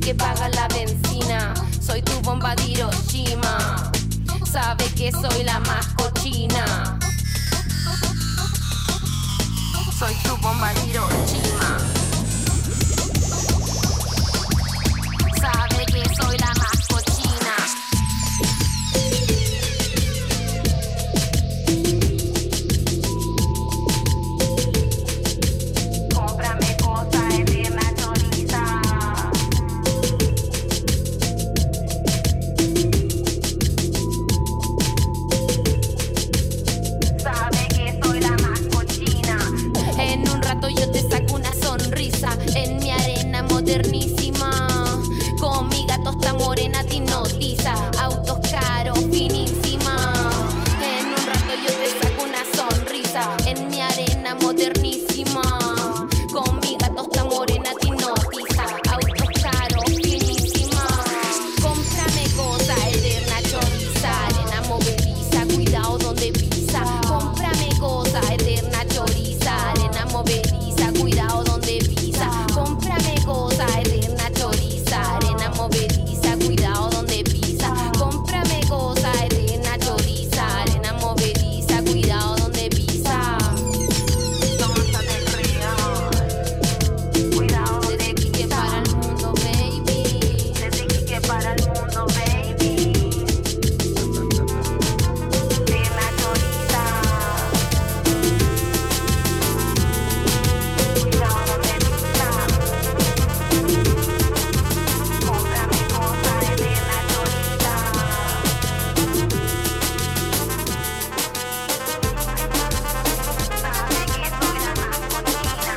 que paga la benzina. Soy tu bomba de Hiroshima. Sabe que soy la más cochina. Soy tu bomba de Hiroshima. Sabe que soy la más cochina. Cómprame cosas eterna choriza. Sabe que soy la más cochina. En un rato yo te saco una sonrisa en mi arena modernísima. Con mi gato está morena te hipnotiza. Autos caros, finísima. En un rato yo te saco una sonrisa en mi arena modernísima. Con mi gato está morena te hipnotiza. Autos caros, finísima. Cómprame cosa eterna choriza. Arena movediza, cuidado donde pisa. Cómprame cosa eterna choriza. Arena movediza, cuidado donde pisa. Cómprame cosa eterna choriza. Arena movediza, cuidado donde pisa. Cómprame cosa eterna choriza. Arena movediza, cuidado donde pisa. Tonta del real. Cuidado desde Quique para el mundo, baby. Desde Quique para el mundo, baby. Eterna choriza. Cuidado donde pisa. Cómprame cosa eterna choriza. Sabe que soy la más cochina.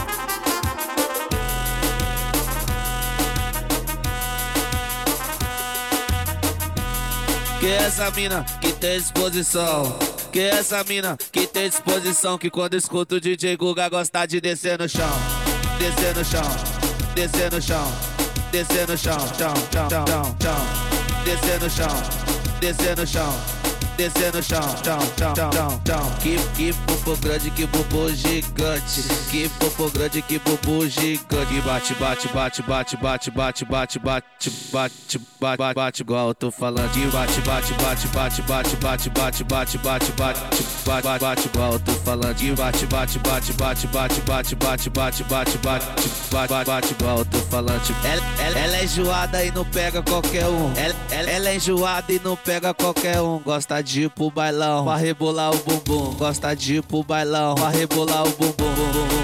Que essa mina que tem disposição. Que essa mina que tem disposição. Que quando escuta o DJ Guga gosta de descer no chão. Descer no chão, descer no chão. Descer no chão, chão, chão, chão, chão. Descer no chão, descer no chão. Descer no chão, chão, chão, chão, chão. Que popô grande, que popô gigante. Que popô grande, que popô gigante. Bate, bate, bate, bate, bate, bate, bate, bate, bate, bate, bate, igual eu tô falando. Que bate, bate, bate, bate, bate, bate, bate, bate, bate, bate, bate, bate, igual eu tô falando. Que bate, bate, bate, bate, bate, bate, bate, bate, bate, bate, bate, igual eu tô falando. Ela é enjoada e não pega qualquer um. Ela é enjoada e não pega qualquer um. Gosta de ir pro bailão, pra rebolar o bumbum. Gosta de ir pro bailão, pra rebolar o bumbum.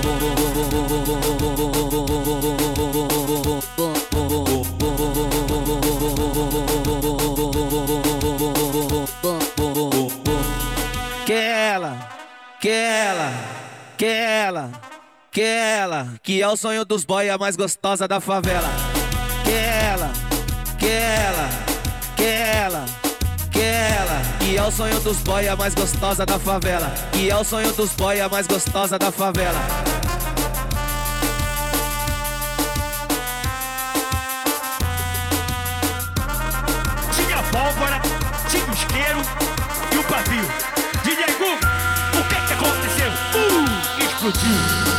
Que ela, que ela, que ela, que ela, que é o sonho dos boy, a mais gostosa da favela. Que ela, que ela, que ela, que ela, que é o sonho dos boy, a mais gostosa da favela. Que é o sonho dos boy, a mais gostosa da favela. Tinha pólvora, tinha o isqueiro e o pavio. DJ Guga, o que aconteceu? Explodiu.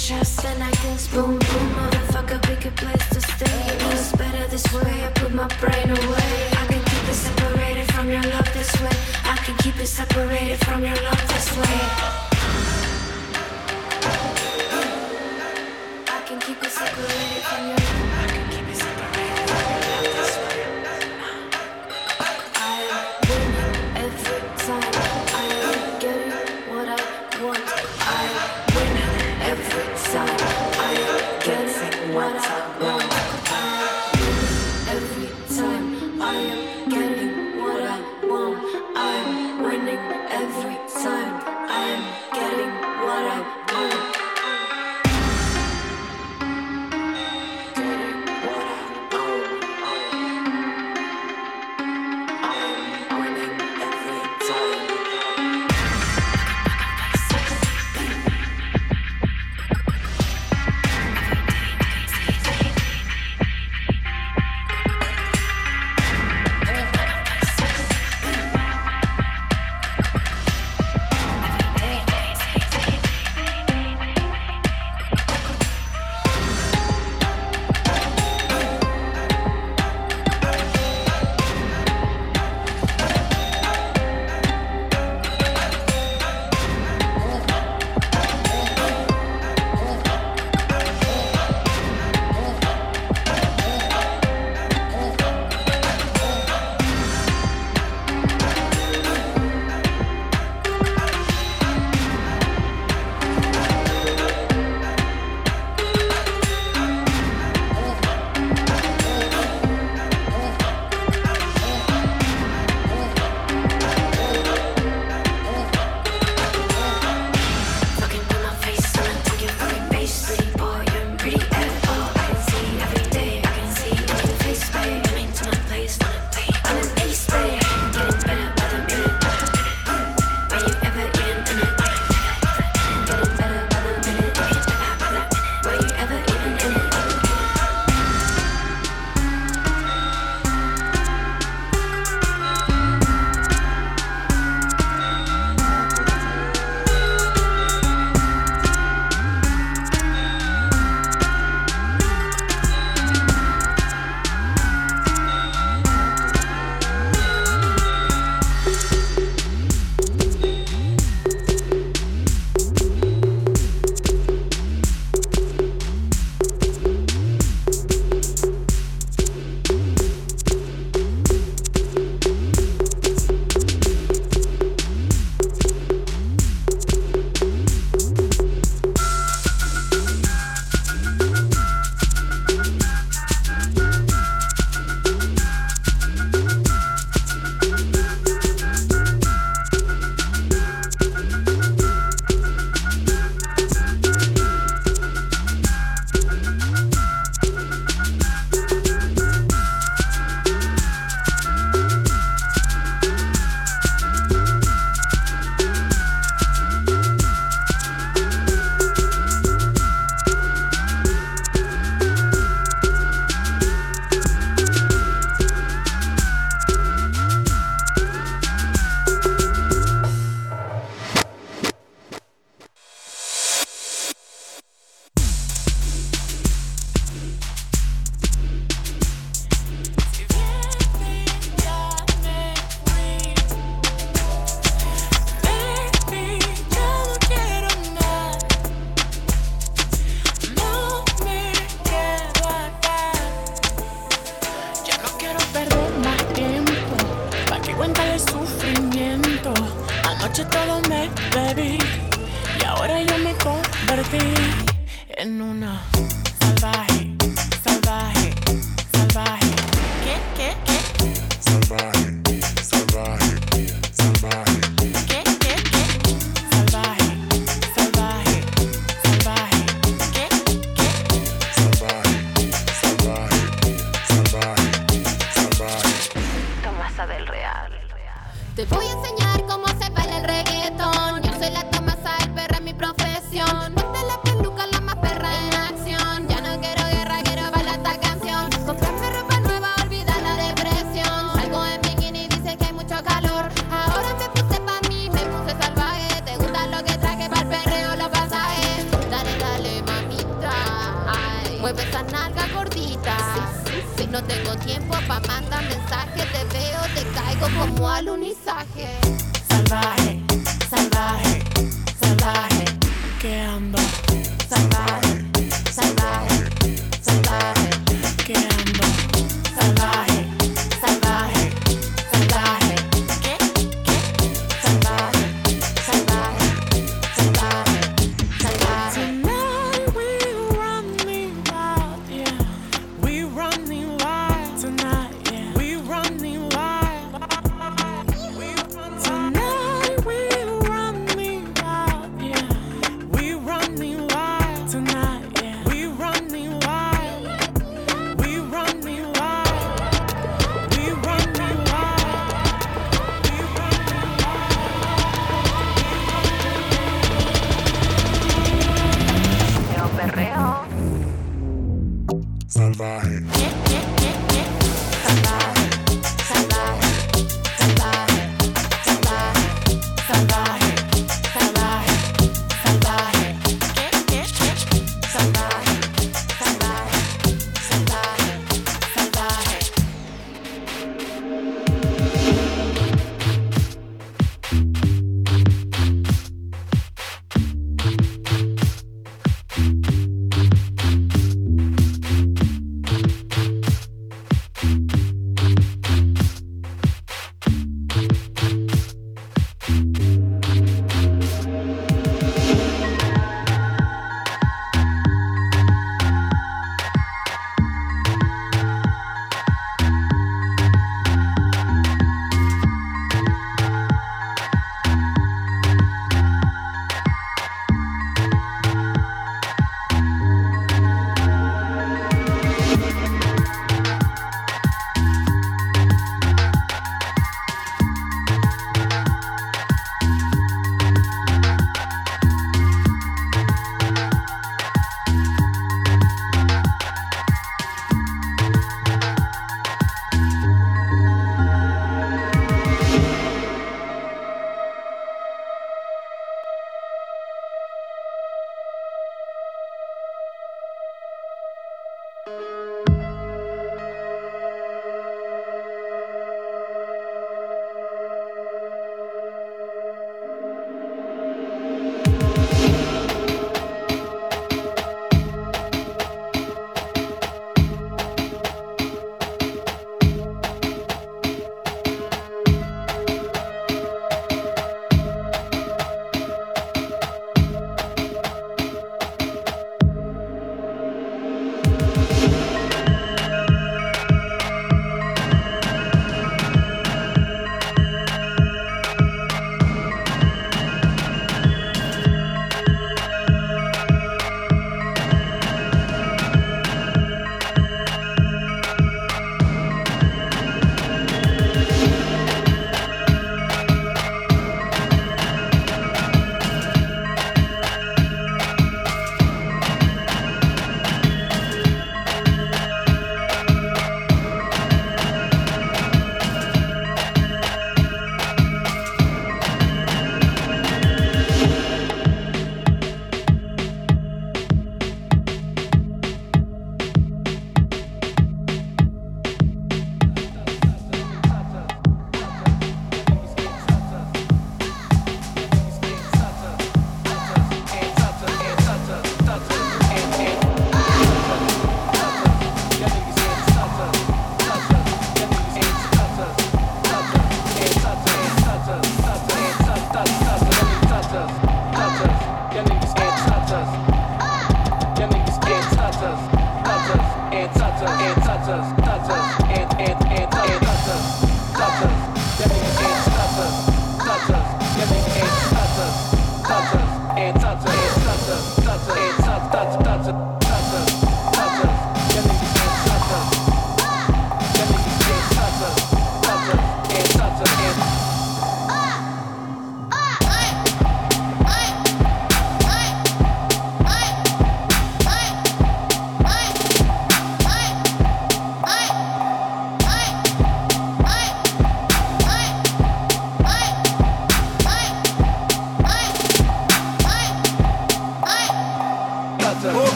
chest and I guess boom boom, motherfucker, pick a place to stay. You know it's better this way. I put my brain away. I can keep it separated from your love this way. I can keep it separated from your love this way. I can keep it separated from your love. I can keep it separated from your love this way. I am winning every time. I am getting what I want. I am winning every time. I am getting what I want. I am winning every time. I am getting what I want. I am winning every time. I am getting what I want. Anoche todo me bebí y ahora yo me convertí en una salvaje, salvaje, salvaje. ¿Qué? Salvaje, salvaje, salvaje. ¿Qué? Salvaje, salvaje, salvaje. ¿Qué? Salvaje, salvaje, salvaje, salvaje. Tomasa del Real. Te voy a enseñar cómo se baila el reggaetón. Yo soy la Tomasa, el perra es mi profesión. No te la peluca, la más perra en acción. Ya no quiero guerra, quiero bailar esta canción. Comprarme ropa nueva, olvida la depresión. Salgo en bikini, dice que hay mucho calor. Ahora me puse pa' mí, me puse salvaje. Te gusta lo que traje, pa'l perreo los pasajes. Dale, dale, mami. bonita. No tengo tiempo pa' mandar mensajes, te veo, te caigo como alunizaje. Salvaje, salvaje, salvaje, que ando. Salvaje, salvaje, salvaje, que ando. Salvaje, salvaje, salvaje, ¿qué? Salvaje, salvaje, salvaje, salvaje. Tonight we running wild, yeah. We running wild tonight, yeah. We running wild. Tonight we running wild, yeah. We running wild tonight, yeah. We running wild. We running wild. We running wild. We running Perreo, perreo. Salvaje. Salvaje, salvaje, salvaje, salvaje, salvaje, salvaje, salvaje, salvaje, salvaje, salvaje, salvaje.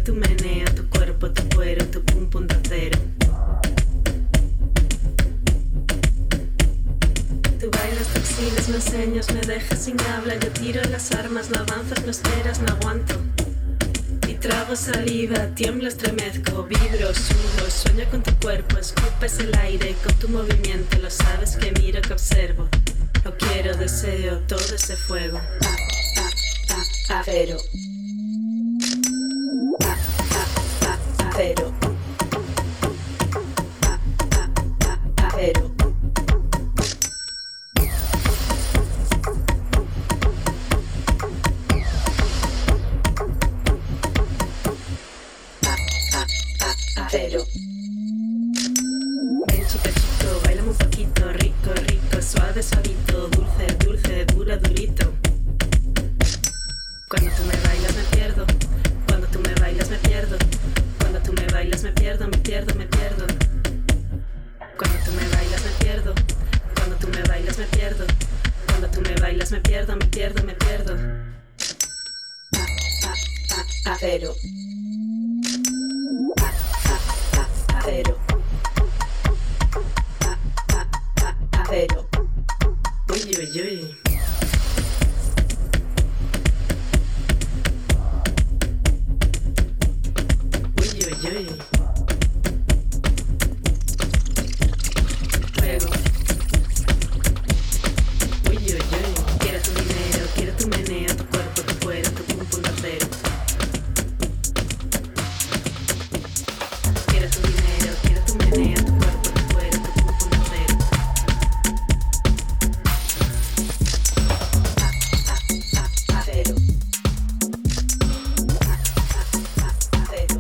tu meneo, tu cuerpo, tu cuero, tu pum pum de acero. Tú bailas, te exhibes, me enseñas, me dejas sin habla. Yo tiro las armas, no avanzas, no esperas, no aguanto. Y trago saliva, tiemblo, estremezco, vibro, sudo, sueño con tu cuerpo, escupes el aire con tu movimiento. Lo sabes que miro, que observo. Lo quiero, deseo, todo ese fuego. Acero. Acero. Acero. Acero. Ven chica chico, bailame un poquito, rico, rico, suave, suavito, dulce, dulce, dura, durito. Cuando tú me bailas me pierdo, cuando tú me bailas me pierdo, cuando tú me bailas me pierdo, me pierdo, me pierdo. Cuando tú me bailas me pierdo, cuando tú me bailas me pierdo, cuando tú me bailas me pierdo, me pierdo, me pierdo. Acero. Acero. Acero. Uy, uy, uy. Uy, uy, uy. Fuego. Uy, uy, uy. Quiero tu dinero, quiero tu meneo, tu cuerpo, tu cuero, tu pum pum de acero. Quiero tu dinero, quiero tu meneo, tu cuerpo, tu cuero, tu pum pum de acero. Acero. Acero.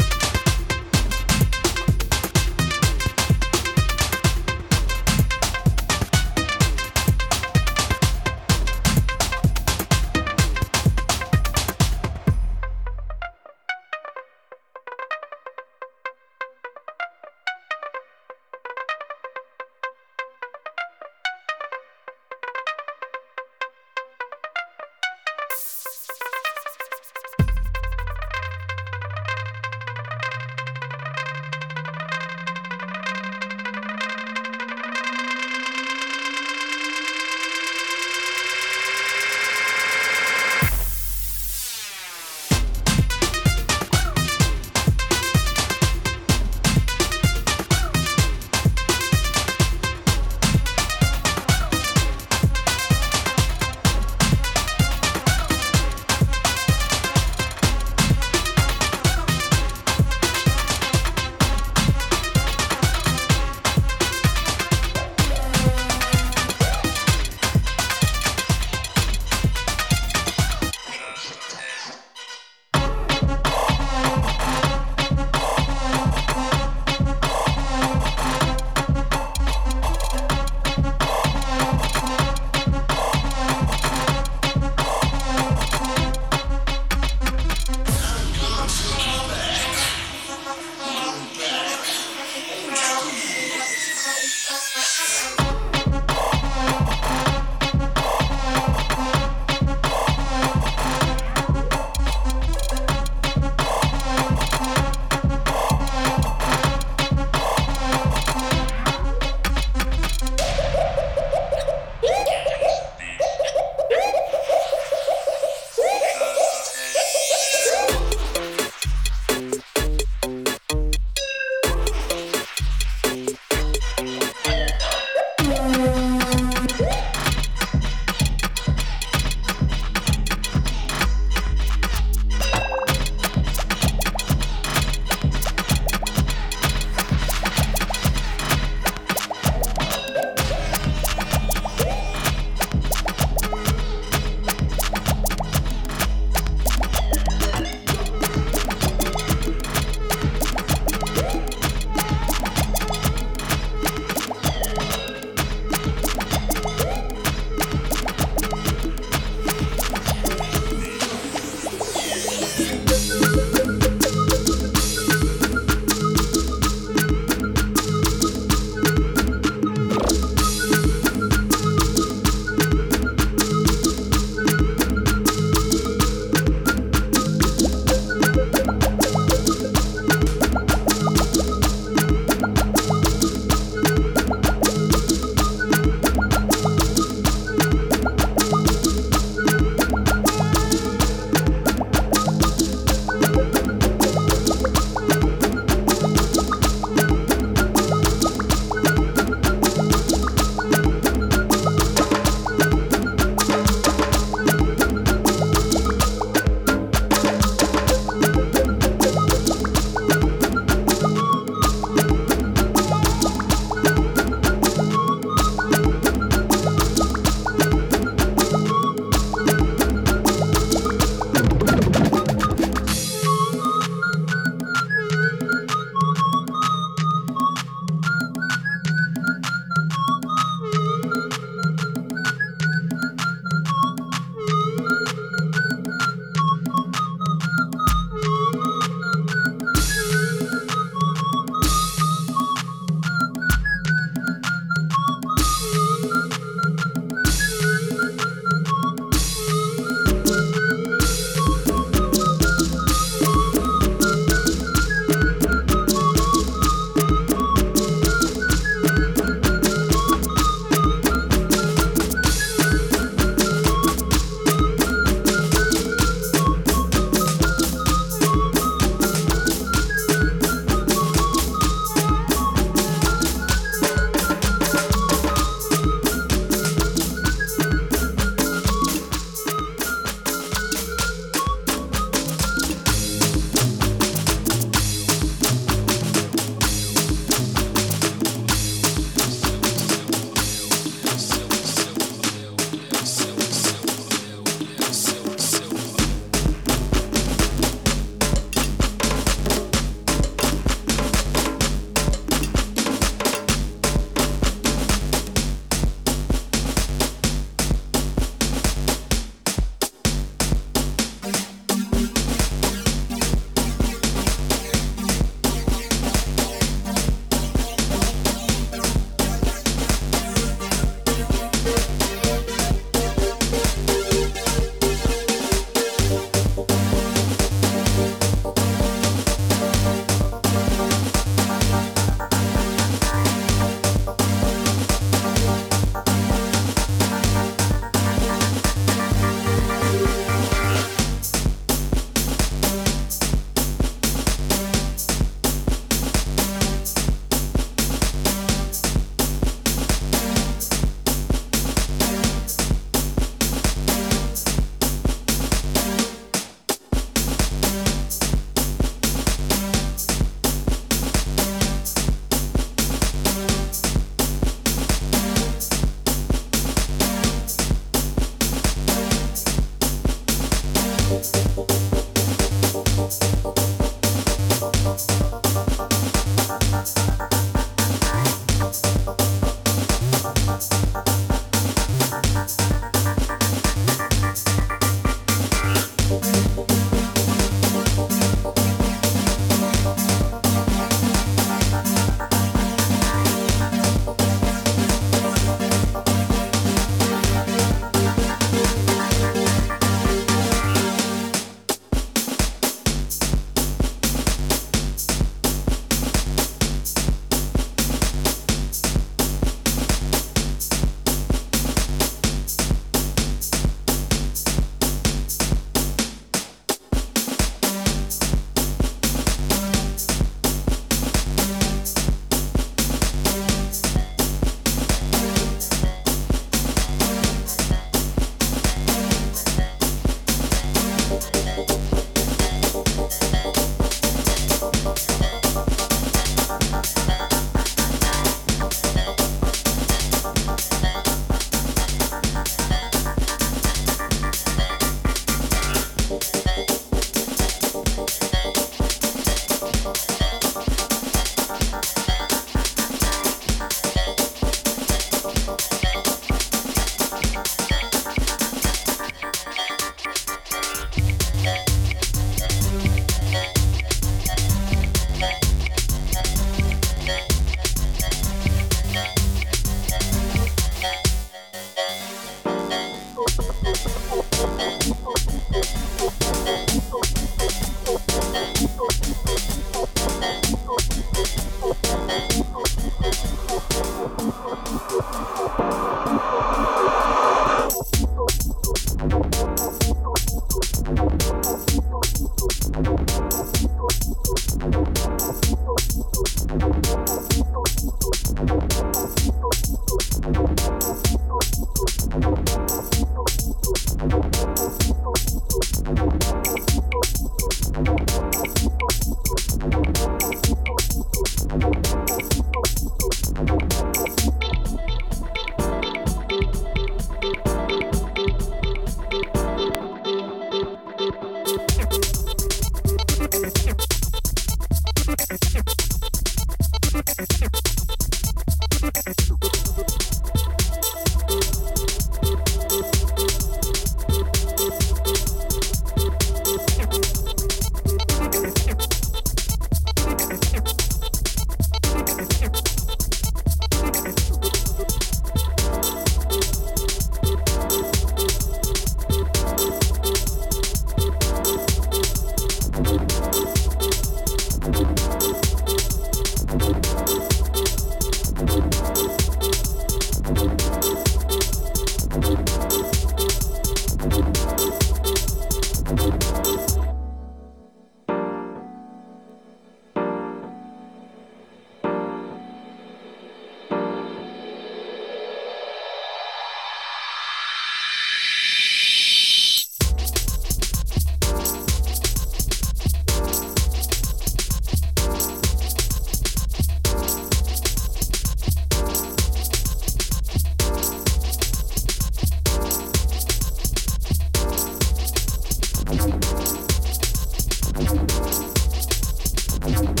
chão.